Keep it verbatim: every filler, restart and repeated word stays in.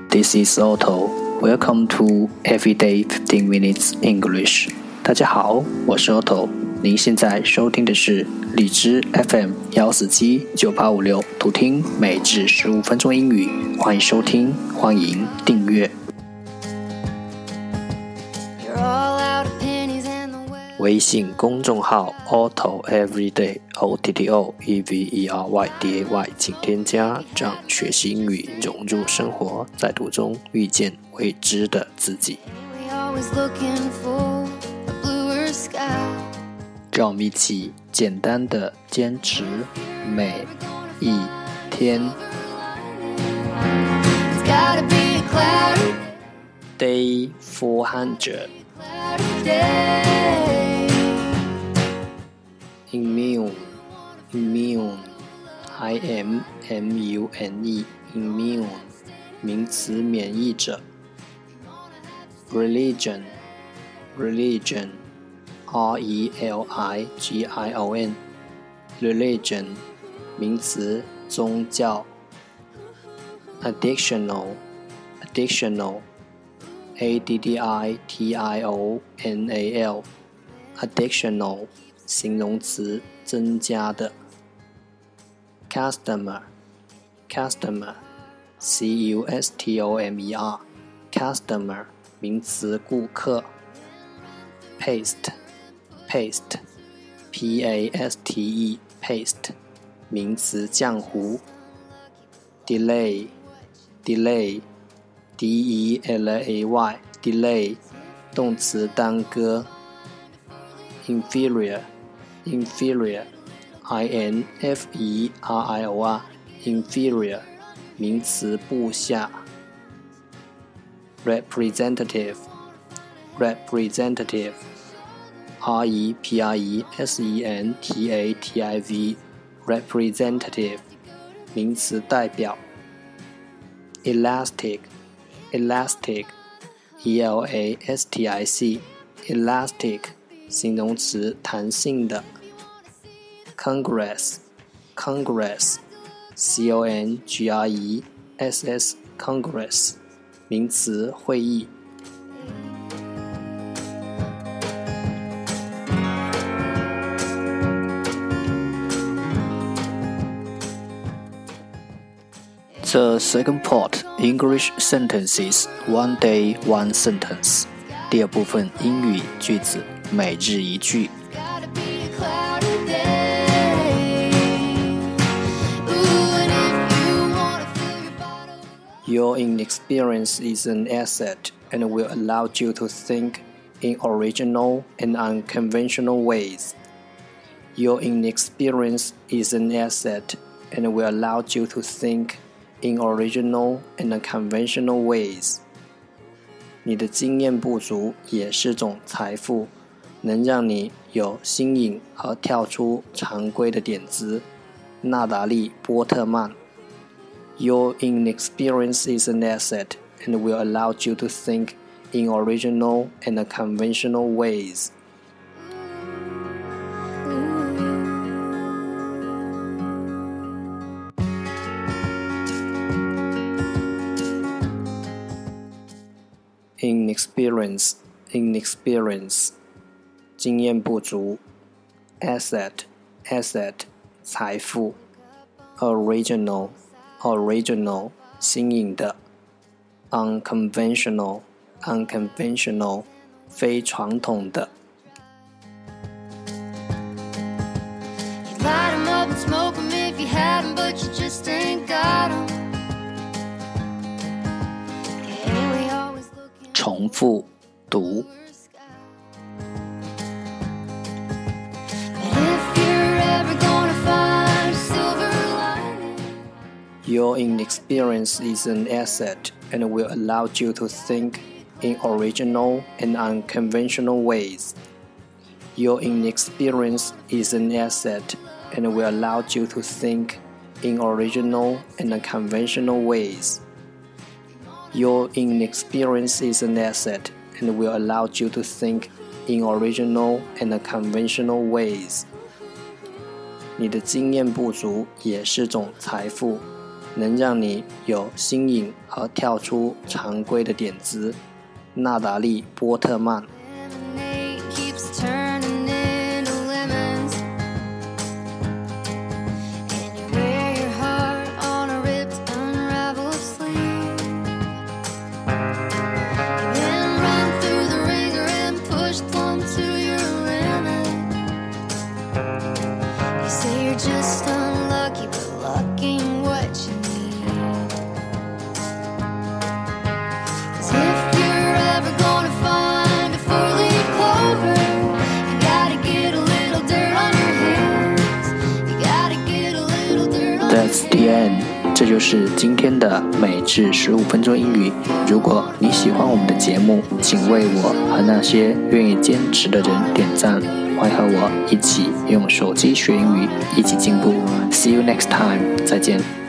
This is Otto. Welcome to Everyday fifteen Minutes English. 大家好，我是 Otto。您现在收听的是荔枝 F M 一四七九八五六，图听每日十五分钟英语。欢迎收听，欢迎订阅。微信公众号 Otto Everyday O T T O E V E R Y D A Y 请添加，让学习英语融入生活，在途中遇见未知的自己。让我们一起简单的坚持每一天。Day four hundred Immune Immune I M M U N E Immune 名词免疫者。 Religion Religion R E L I G I O N Religion 名词宗教。 Additional Additional A D D I T I O N A L Additional 形容词增加的。 Customer Customer C U S T O M E R Customer 名词顾客。 Paste Paste P A S T E Paste 名词浆糊。 Delay Delay D E L A Y Delay 动词耽搁。 Inferior Inferior I N F E R I O R Inferior 名词部下。 Representative Representative R E P R E S E N T A T I V Representative 名词代表。 Elastic Elastic E L A S T I C Elastic 形容词弹性的。 Congress Congress C O N G R E S S Congress 名词会议。The second part, English sentences, one day, one sentence. 第二部分英语句子，每日一句。Your inexperience is an asset and will allow you to think in original and unconventional ways. Your inexperience is an asset and will allow you to think in original and unconventional ways. 你的经验不足也是种财富，能让你有新颖和跳出常规的点子。纳达利·波特曼。 Your inexperience is an asset and will allow you to think in original and unconventional ways. Inexperience Inexperience 经验不足。 Asset Asset 财富。 Original Original 新颖的。 Unconventional Unconventional 非传统的。 You'd light 'em up and smoke 'em if you had 'em, but you just ain't got 'em. 重复读。Your inexperience is an asset and will allow you to think in original and unconventional ways. Your inexperience is an asset and will allow you to think in original and unconventional ways. Your inexperience is an asset and will allow you to think in original and unconventional ways. 你的经验不足也是种财富， 能让你有新颖和跳出常规的点子。娜达莉·波特曼。 That's the end， 这就是今天的每日十五分钟英语。如果你喜欢我们的节目，请为我和那些愿意坚持的人点赞，欢迎和我一起用手机学英语，一起进步。See you next time， 再见。